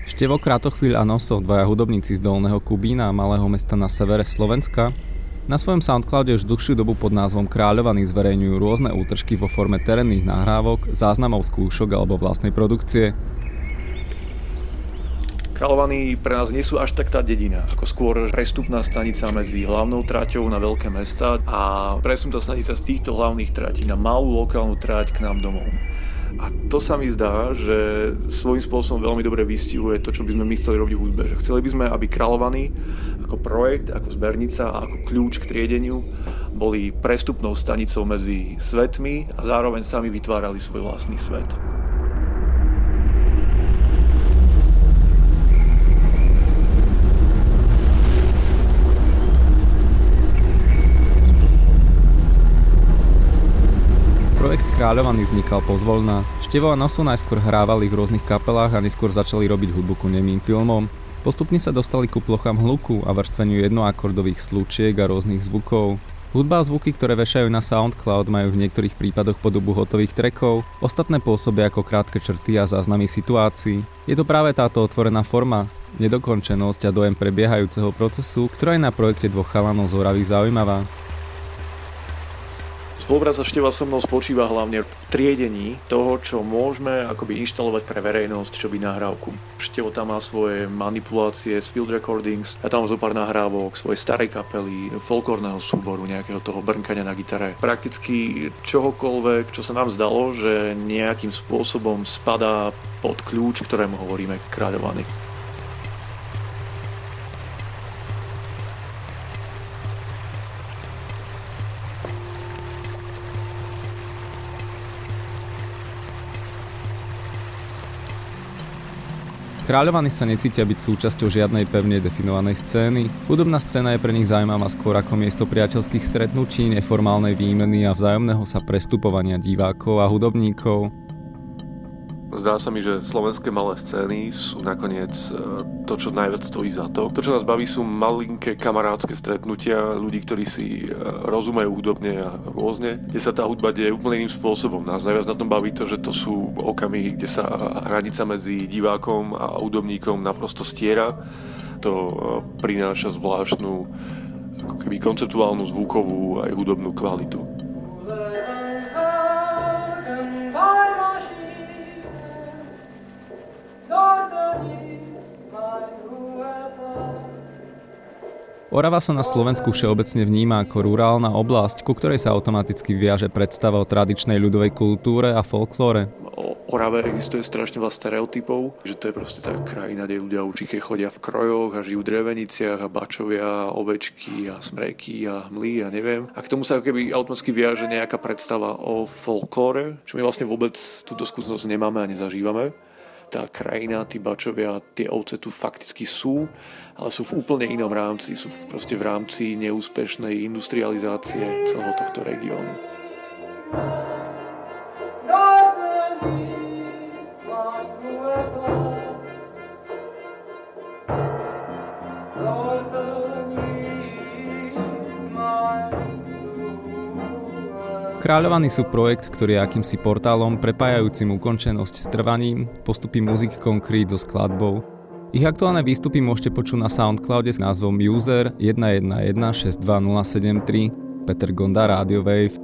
Števo Kratochvíľ a Noso, dvaja hudobníci z Dolného Kubína, malého mesta na severe Slovenska, na svojom Soundcloude už dlhšiu dobu pod názvom Kráľovaní zverejňujú rôzne útržky vo forme terénnych nahrávok, záznamov skúšok alebo vlastnej produkcie. Kráľovaní pre nás nie sú až tak tá dedina, ako skôr prestupná stanica medzi hlavnou traťou na veľké mestá a prestupná stanica z týchto hlavných tratí na malú lokálnu trať k nám domov. A to sa mi zdá, že svojím spôsobom veľmi dobre vystihuje to, čo by sme my chceli robiť v hudbe. Že chceli by sme, aby Kráľovaní ako projekt, ako zbernica a ako kľúč k triedeniu boli prestupnou stanicou medzi svetmi a zároveň sami vytvárali svoj vlastný svet. Projekt Kráľovaní vznikal pozvoľna. Števo a Noso najskôr hrávali v rôznych kapelách a neskôr začali robiť hudbu ku nemým filmom. Postupne sa dostali ku plochám hluku a vrstveniu jednoakordových slučiek a rôznych zvukov. Hudba a zvuky, ktoré vešajú na Soundcloud, majú v niektorých prípadoch podobu hotových trackov, ostatné pôsobia ako krátke črty a záznamy situácií. Je to práve táto otvorená forma, nedokončenosť a dojem prebiehajúceho procesu, ktorá je na projekte dvoch chalanov z Oravy zaujímavá. Spolupráca Števa so mnou spočíva hlavne v triedení toho, čo môžeme akoby inštalovať pre verejnosť, čo by nahrávku. Števo tam má svoje manipulácie z field recordings, ja tam mám zo pár nahrávok, svoje starej kapely, folklórneho súboru, nejakého toho brnkania na gitare. Prakticky čohokoľvek, čo sa nám zdalo, že nejakým spôsobom spadá pod kľúč, ktorému hovoríme Kráľovaní. Kráľovaní sa necítia byť súčasťou žiadnej pevne definovanej scény. Hudobná scéna je pre nich zaujímavá skôr ako miesto priateľských stretnutí, neformálnej výmeny a vzájomného sa prestupovania divákov a hudobníkov. Zdá sa mi, že slovenské malé scény sú nakoniec to, čo najviac stojí za to. To, čo nás baví, sú malinké kamarádske stretnutia ľudí, ktorí si rozumejú hudobne a rôzne, kde sa tá hudba deje úplne iným spôsobom. Nás najviac na tom baví to, že to sú okamihy, kde sa hranica medzi divákom a hudobníkom naprosto stiera. To prináša zvláštnu ako keby konceptuálnu, zvukovú aj hudobnú kvalitu. Orava sa na Slovensku všeobecne vníma ako rurálna oblasť, ku ktorej sa automaticky viaže predstava o tradičnej ľudovej kultúre a folklóre. O Orave existuje strašne veľa stereotypov, že to je proste tá krajina, kde ľudia určite chodia v krojoch a žijú v dreveniciach a bačovia, ovečky a smreky a hmly a neviem. A k tomu sa keby automaticky viaže nejaká predstava o folklóre, čo my vlastne vôbec túto skúsenosť nemáme a nezažívame. Tá krajina, tí bačovia, tie ovce tu fakticky sú, ale sú v úplne inom rámci. Sú proste v rámci neúspešnej industrializácie celého tohto regiónu. Kráľovaní sú projekt, ktorý je akýmsi portálom prepájajúcim ukončenosť s trvaním, postupy Music Concrete so skladbou. Ich aktuálne výstupy môžete počuť na Soundcloude s názvom User 11162073, Peter Gonda, Radio Wave.